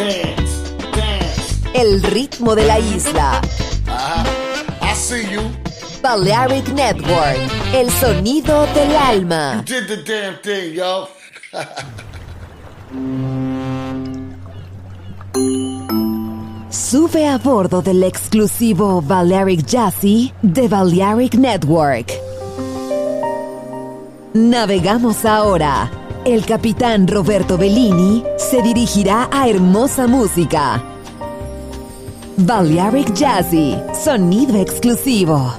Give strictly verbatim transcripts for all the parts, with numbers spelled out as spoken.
Dance, dance. El ritmo de la isla. Uh-huh. I see you. Balearic Network, el sonido del alma. You did the damn thing, yo. Sube a bordo del exclusivo Balearic Jazzy de Balearic Network. Navegamos ahora. El capitán Roberto Bellini se dirigirá a hermosa música. Balearic Jazzy, sonido exclusivo.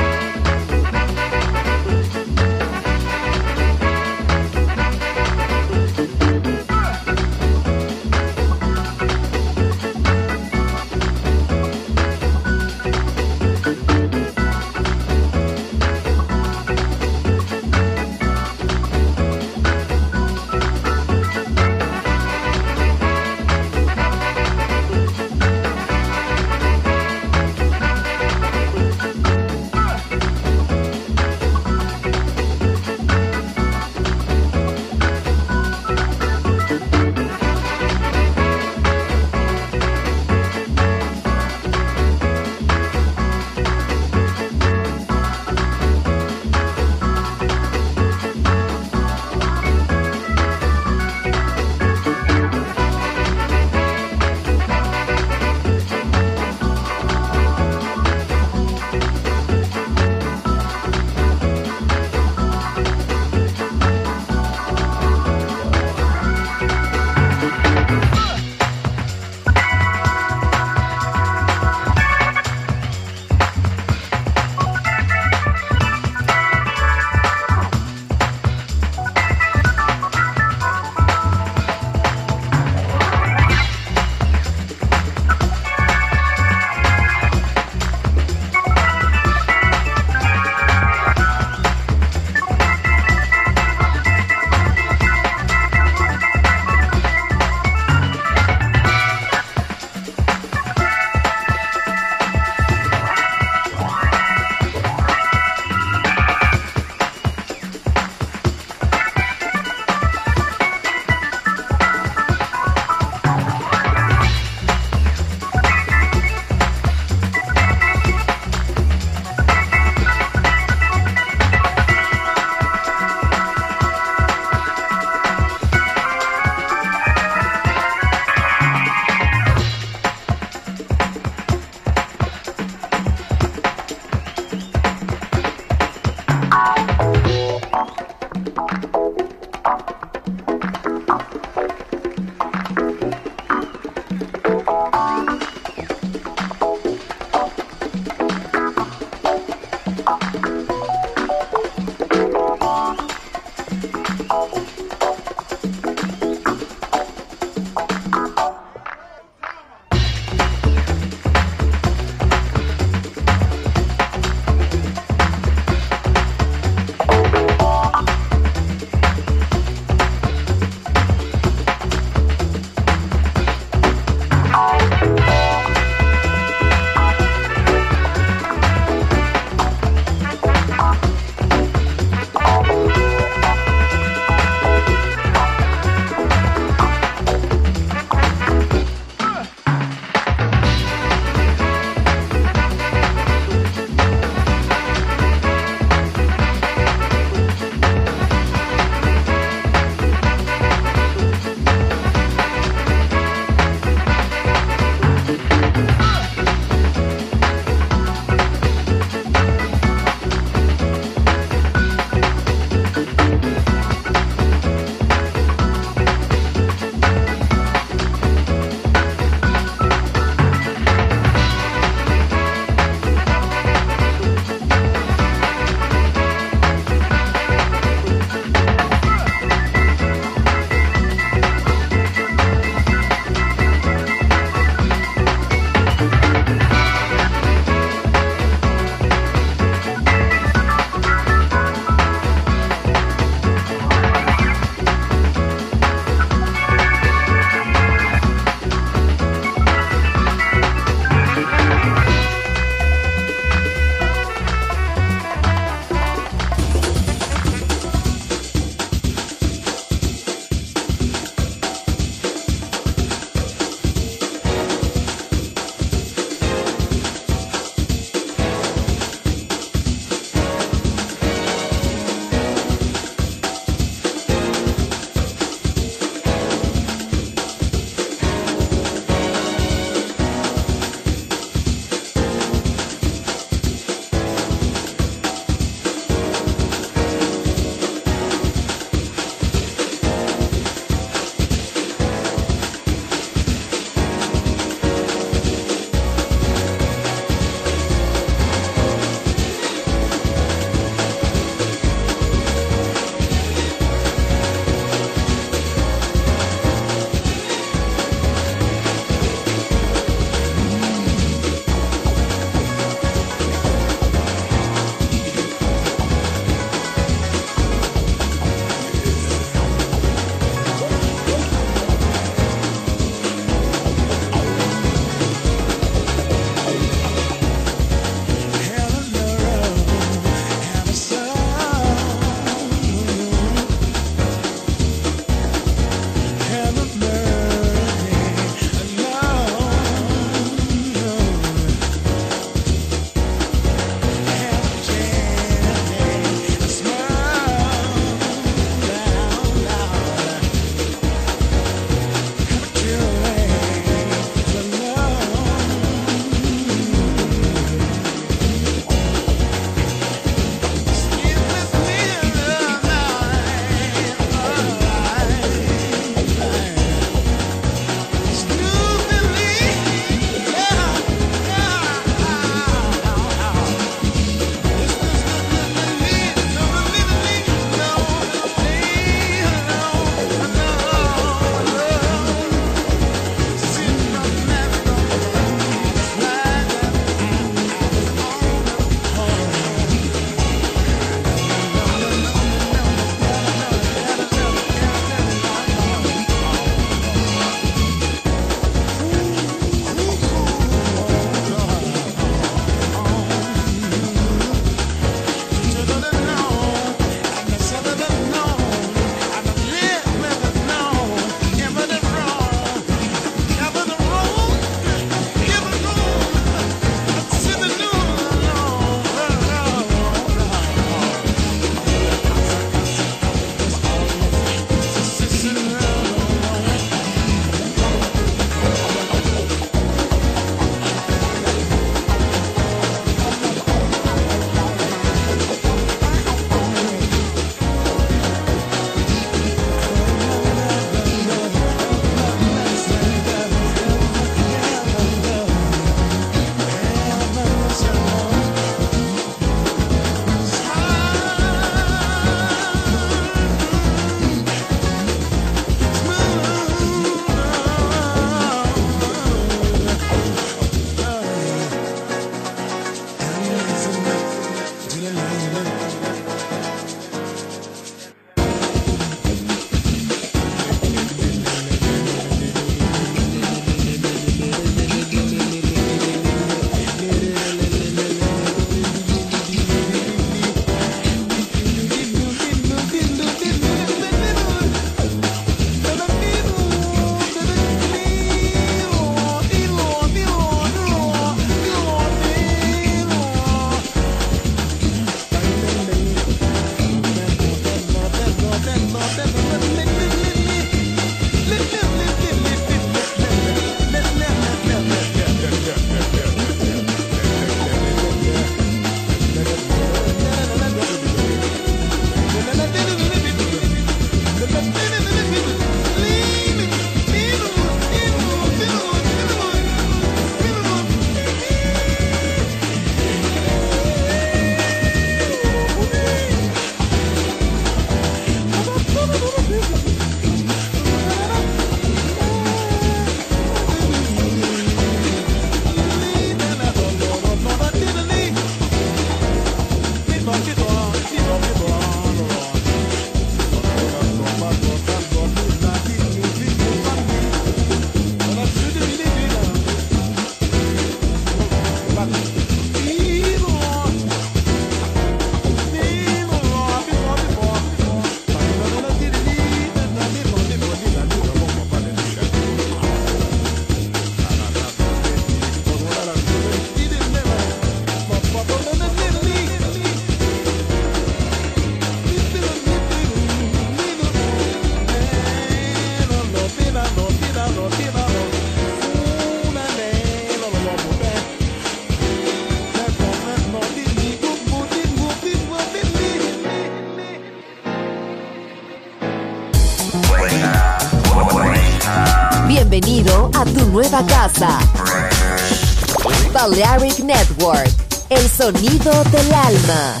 bienvenido a tu nueva casa. Balearic Network, el sonido del alma.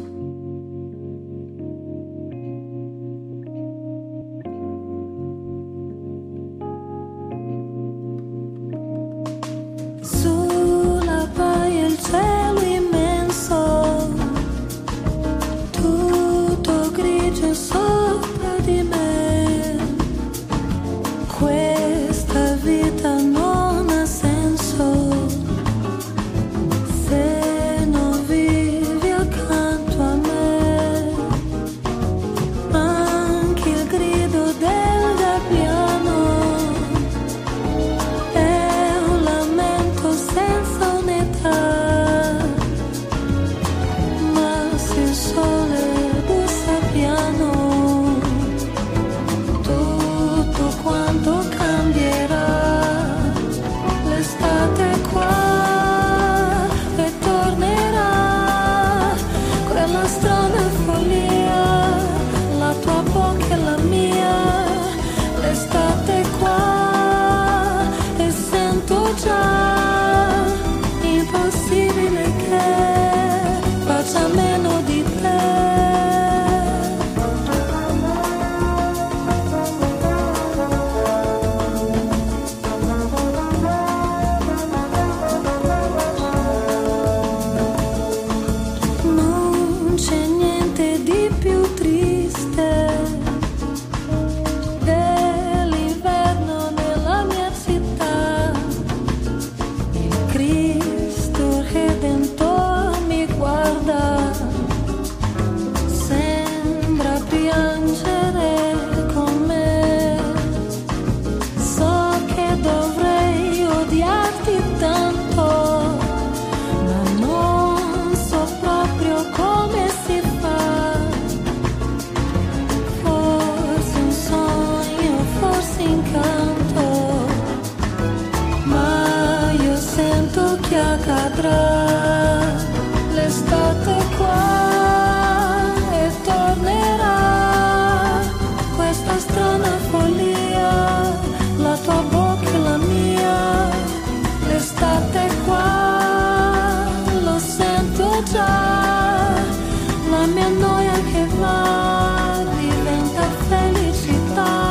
Sulla baia il cielo immenso, tutto grigio sopra di me. Questa vita non ha senso se non vivi accanto a me. Anche il grido del gabbiano è un lamento senza unità, ma se il sole bussa piano, tutto quanto cambierà. L'estate qua e tornerà quella strana follia, la tua bocca e la mia. L'estate qua e sento già impossibile che faccia meno di te. Non c'è niente di più triste dell'inverno nella mia città. Il Cristo Redentore mi guarda, sembra piangere con me. So che dovrei odiarti tanto, ma non so proprio come si fa. Forse un sogno, forse incanto, ma io sento che accadrà. L'estate qua e tornerà questa strana follia, la tua bocca e la mia. L'estate qua lo sento già, la mia noia che va diventa felicità.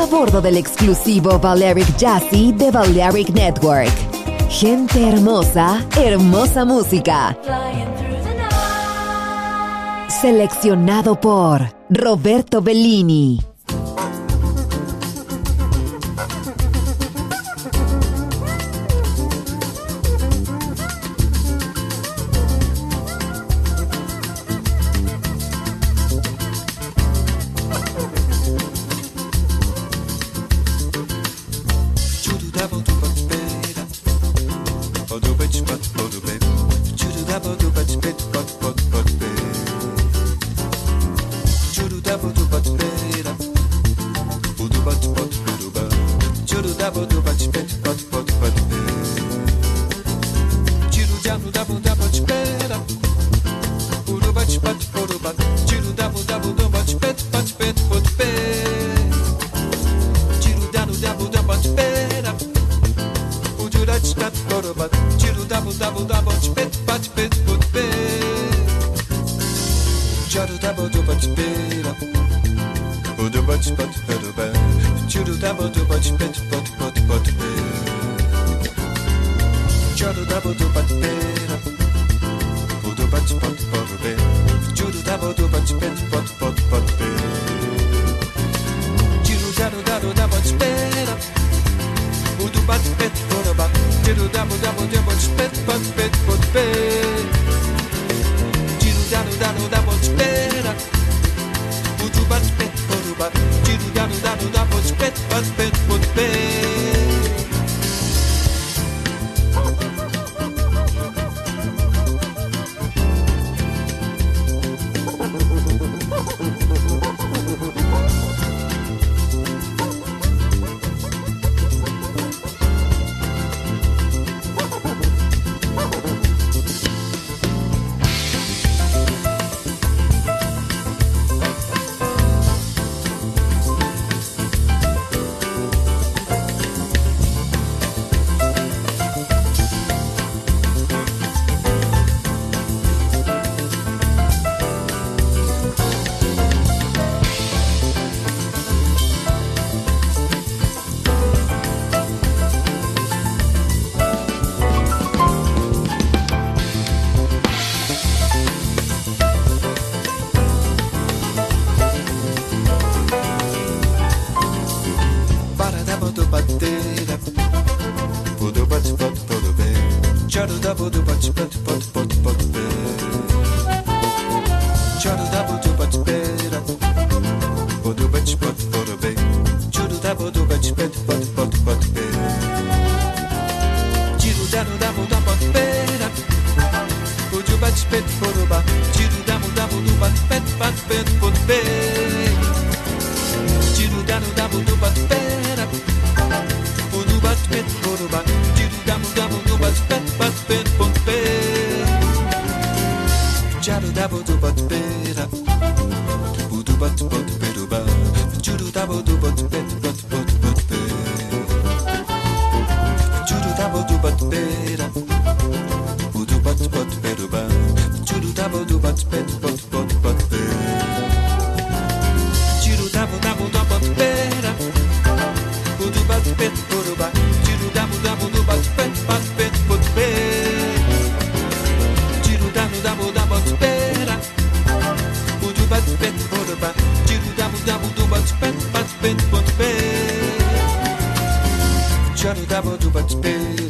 a bordo del exclusivo Balearic Jazzy de Balearic Network. Gente hermosa, hermosa música. Seleccionado por Roberto Bellini.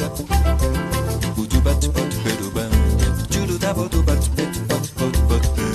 But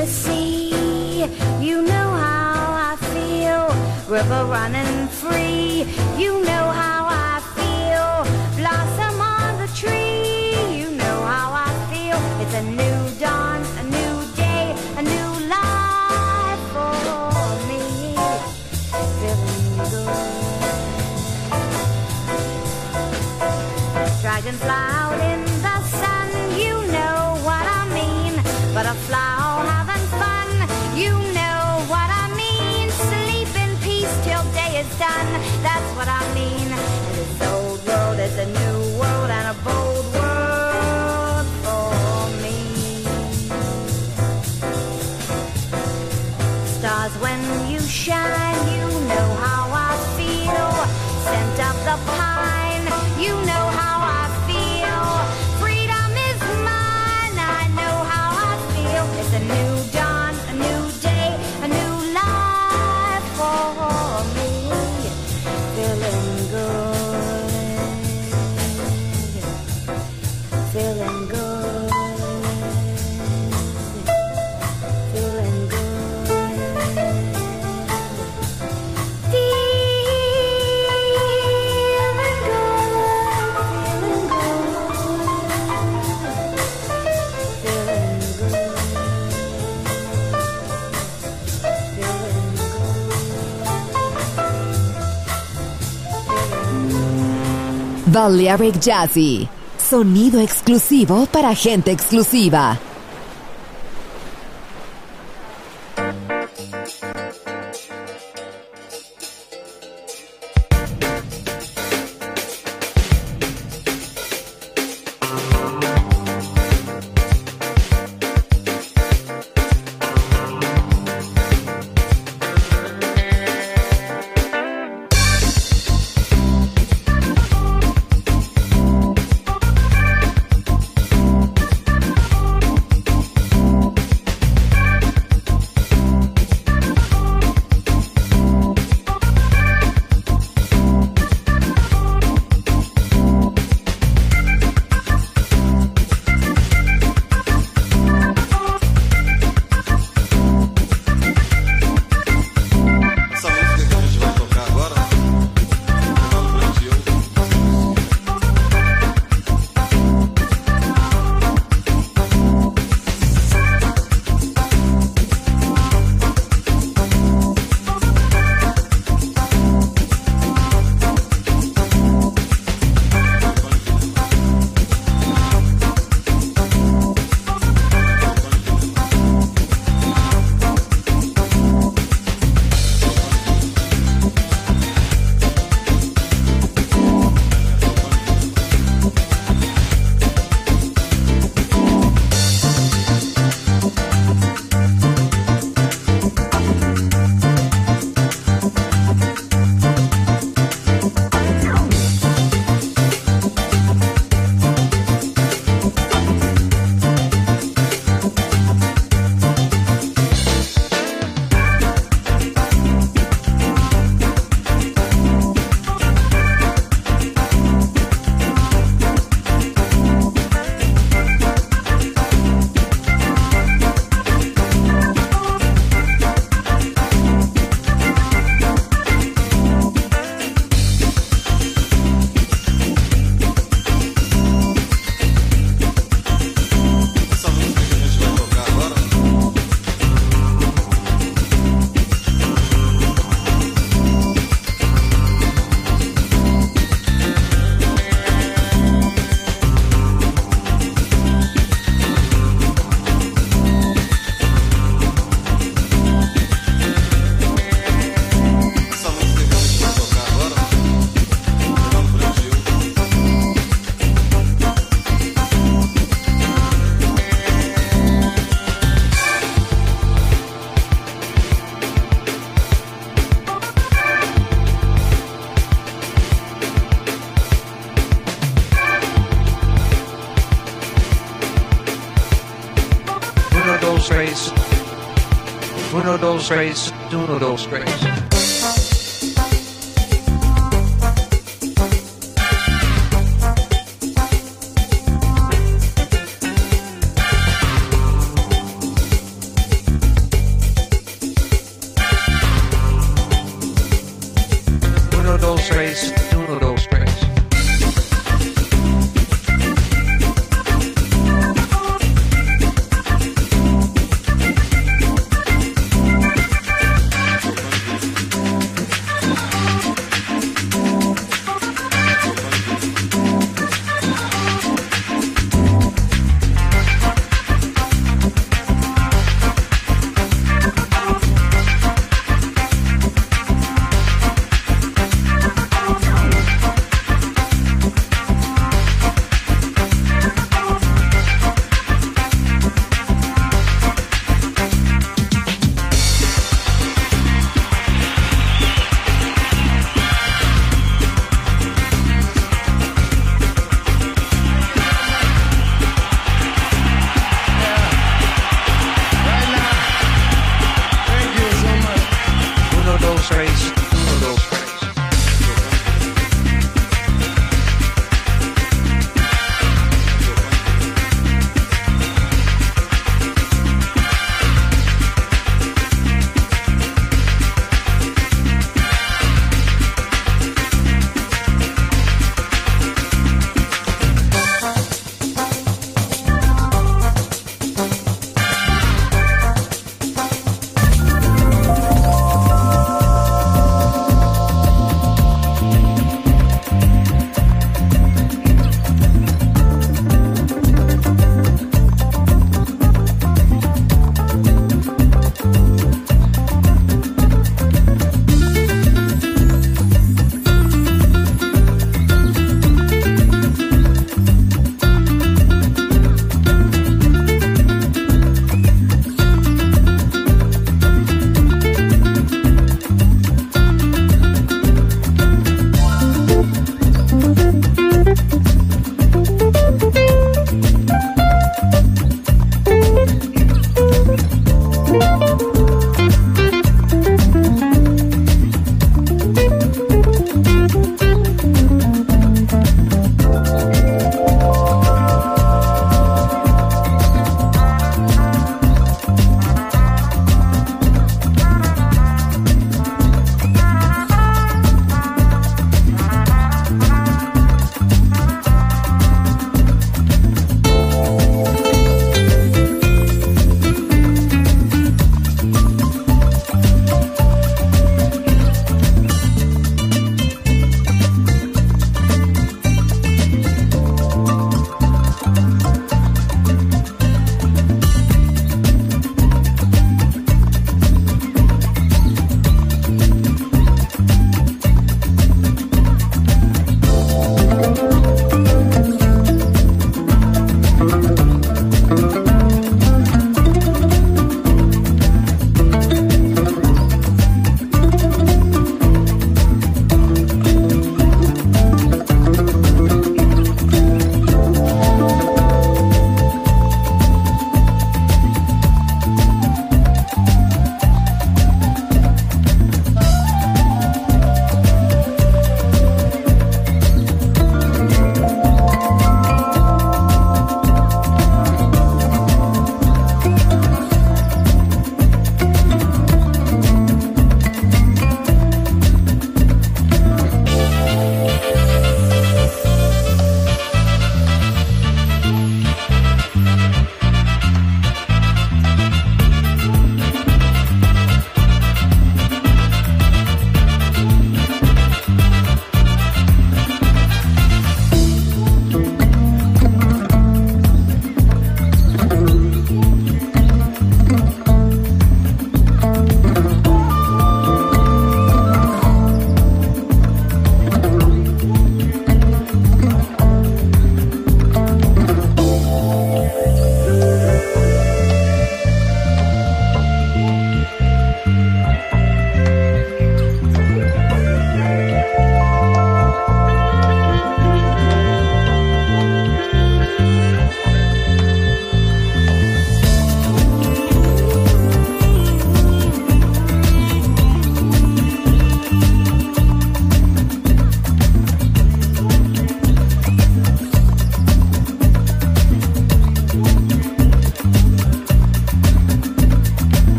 the sea. You know how I feel, river running free. You know how I feel, blossom on the tree. You know how I feel, it's a new dawn, a new day, a new life for me. Feeling good. Dragonfly out in the sun, you know what I mean. Butterfly all having fun, you know what I mean. Sleep in peace till day is done, that's what I mean. And this old world is a new world and a bold world for me. Stars when you shine, you know how I feel. Scent of the pine, you know how I feel. Freedom is mine, I know how I feel. It's a new dawn, a new day, a new life for me. Feeling good, feeling good, feeling good. Balearic Jazzy, sonido exclusivo para gente exclusiva. dos, tres. Uno, dos, tres. Uno, dos, tres. dos, tres, uno, dos, tres.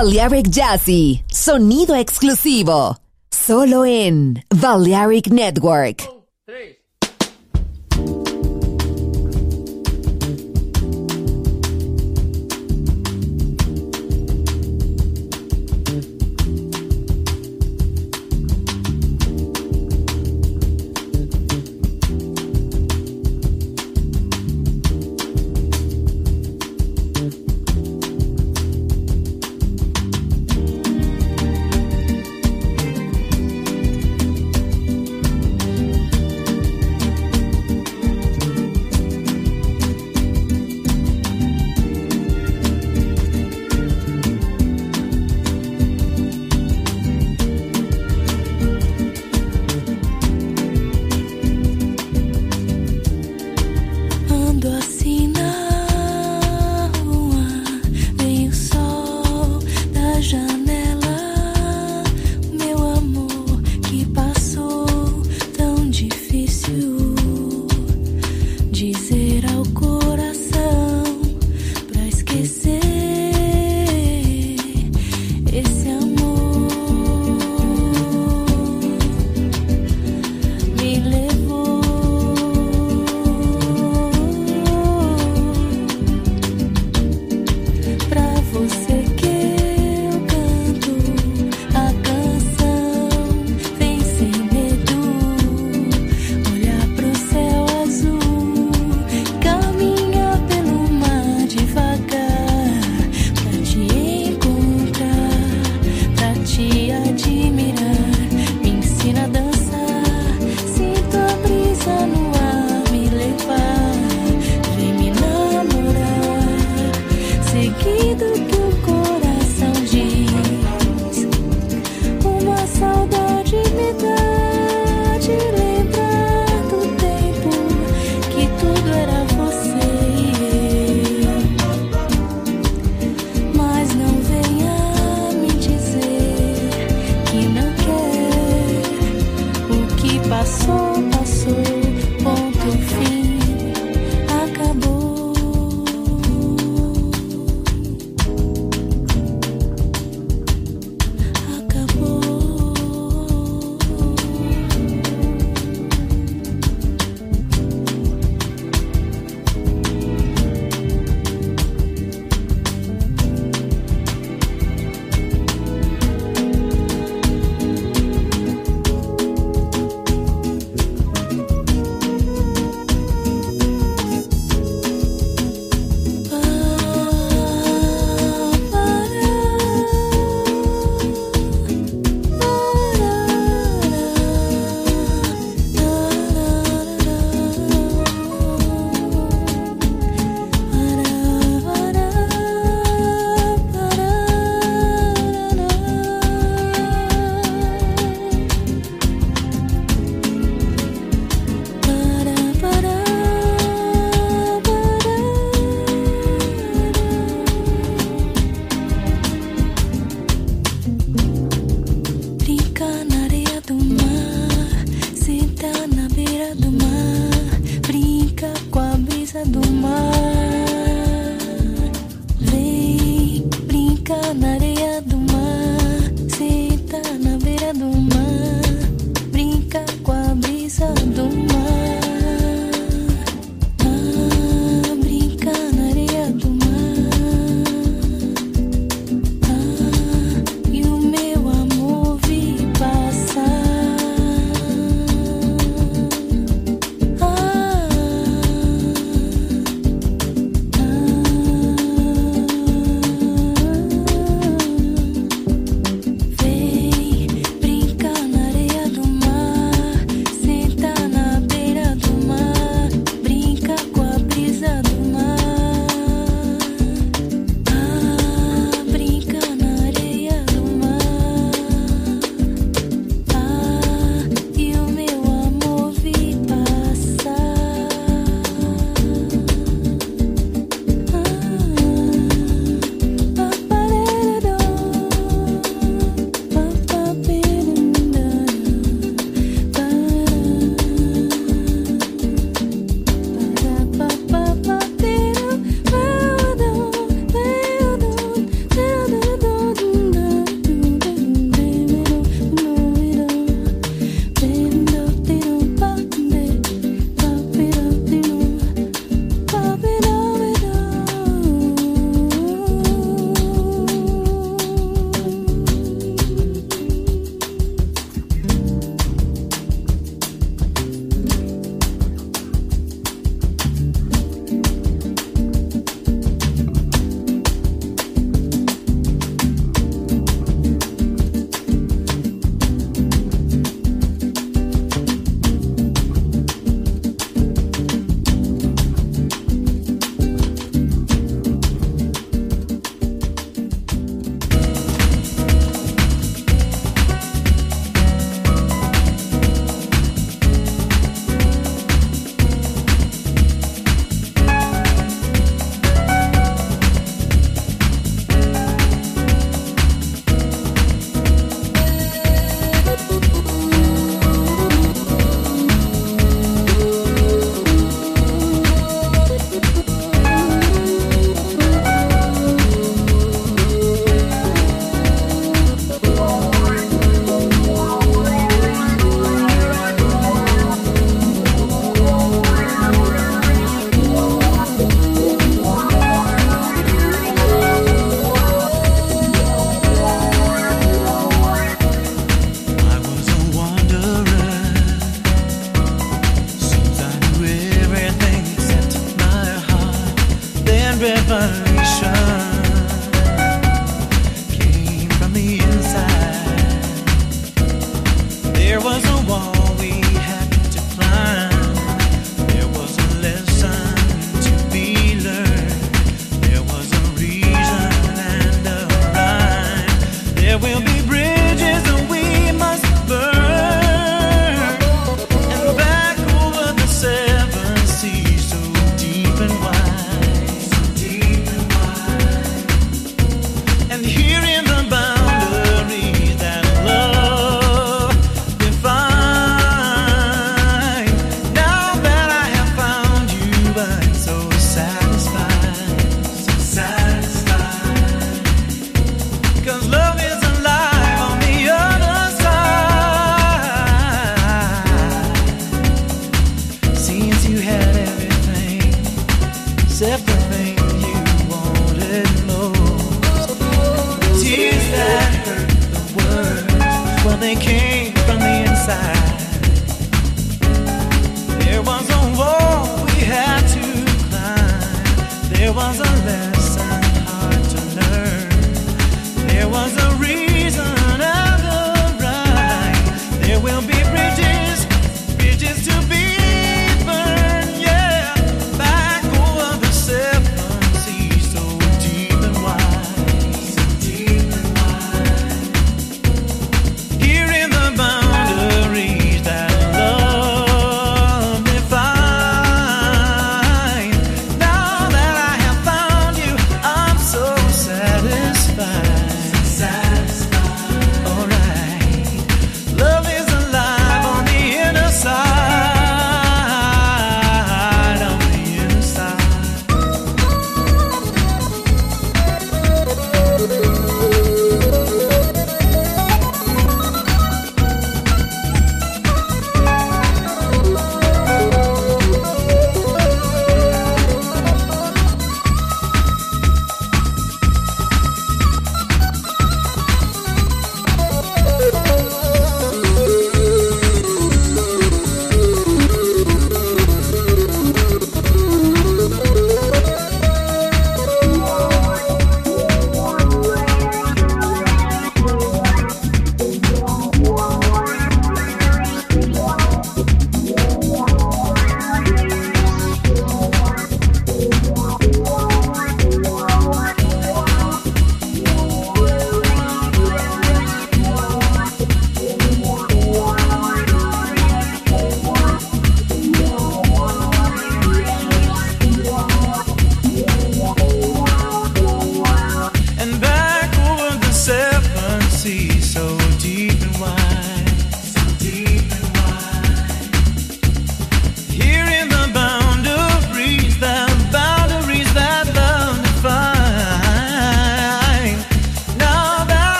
Balearic Jazzy, sonido exclusivo, solo en Balearic Network.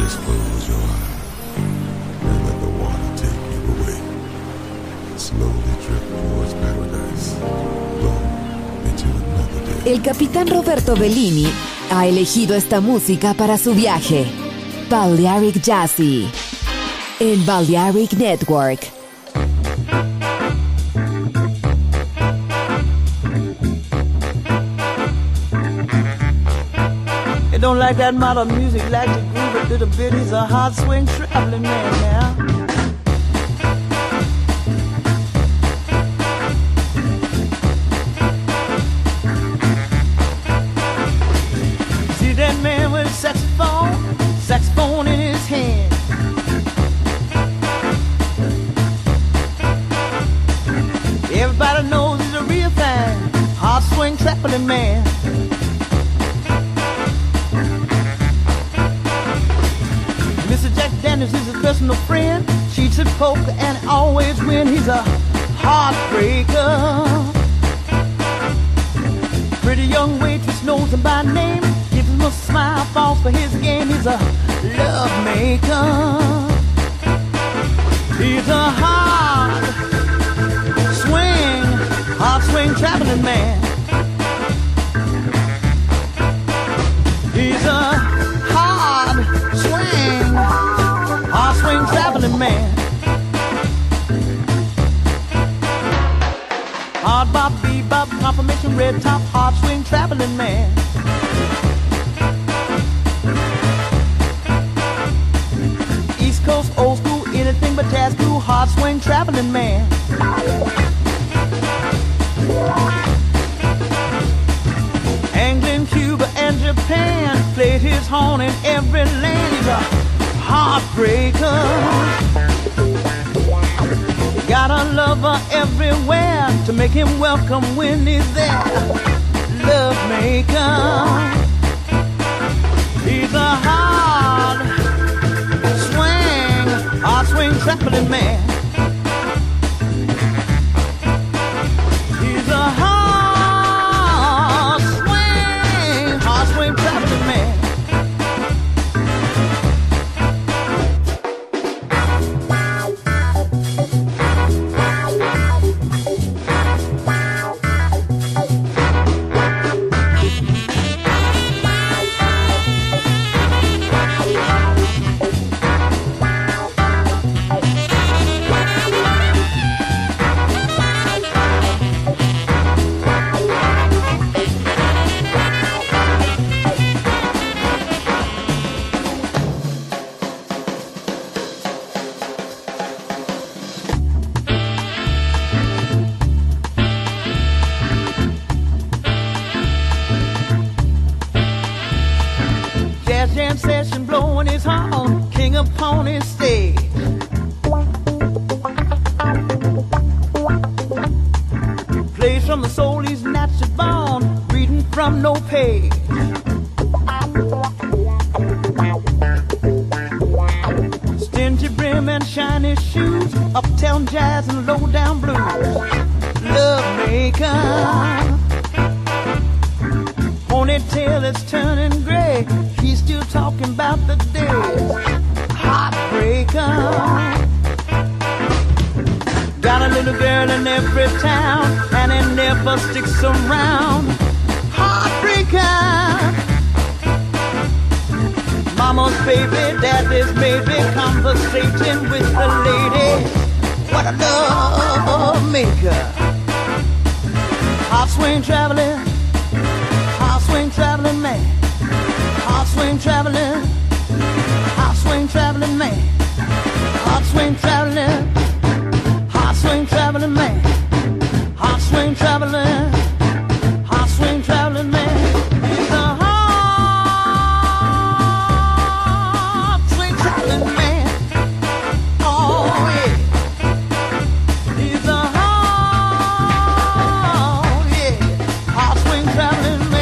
Just close your eyes and let the water take you away. Slowly drift towards paradise. Go into another day. El capitán Roberto Bellini ha elegido esta música para su viaje. Balearic Jazzy en Balearic Network. They don't like that modern music, like to groove a little bit. He's a hard swing traveling man now. See that man with a saxophone, saxophone in his hand. Everybody knows he's a real fan, hard swing traveling man. Mister Jack Daniels is his personal friend. Cheats at poker and always win. He's a heartbreaker. Pretty young waitress knows him by name. Gives him a smile, falls for his game. He's a love maker. He's a hard swing, hard swing traveling man. He's a hard swing, hard swing traveling man. Hard bop, bebop, confirmation, red top, hard swing traveling man. East Coast, old school, anything but jazz cool, hard swing traveling man. England, Cuba, and Japan played his horn in every land. He's a heartbreaker. Got a lover everywhere to make him welcome when he's there. Love maker. He's a hard swing, hard swing traveling man. He's a hard swing, hard swing traveling man. Jazz jam session blowing his horn, king upon his stage. Plays from the soul he's naturally born, reading from no page. Stingy brim and shiny shoes, uptown jazz and low down blues. Love maker. Ponytail is turning gray. He's still talking about the days. Heartbreaker. Got a little girl in every town, and it never sticks around. Heartbreaker. Mama's baby, daddy's maybe, conversating with the lady. What a love maker. Hot swing traveling. Hot swing traveling man, hot swing traveling, hot swing traveling man, hot swing traveling, hot swing traveling man, hot swing traveling, hot swing traveling man. He's a hot swing traveling man. Oh yeah, he's a hot, yeah, hot swing traveling man.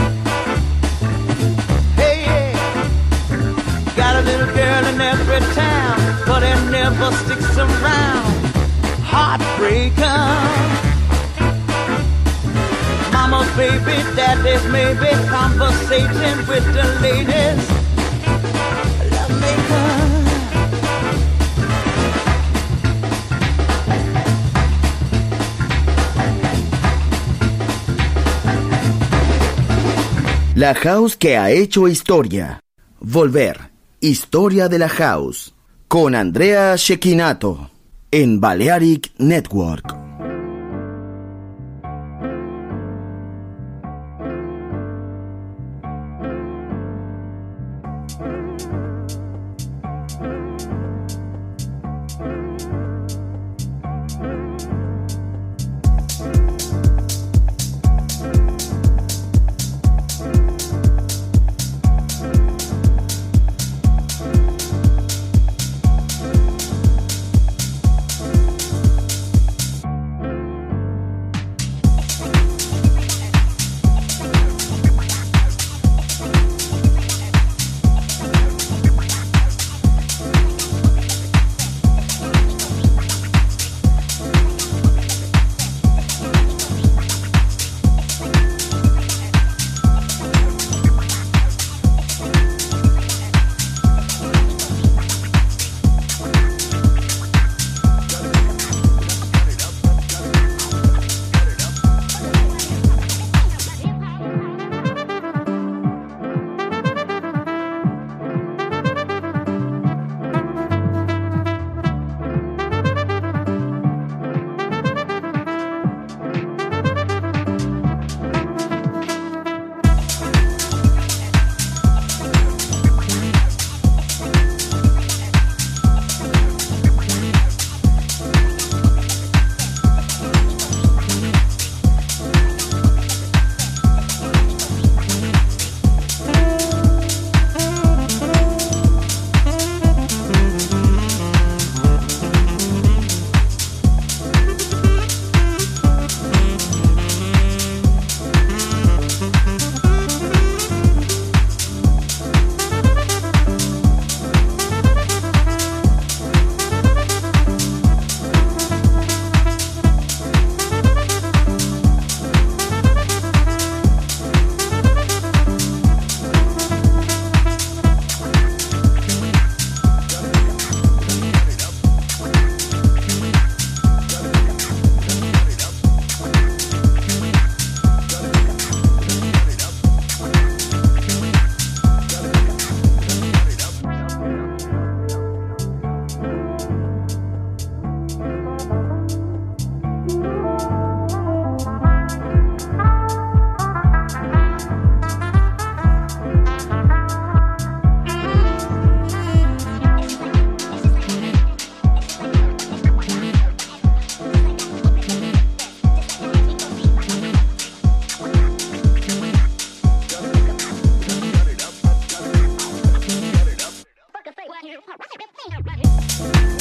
In every town, but it never sticks around. Heartbreaker. Mama's baby, daddy's maybe, conversating with the ladies. Love me. La house que ha hecho historia. Volver. Historia de la house. Con Andrea Cecchinato. En Balearic Network. Right here.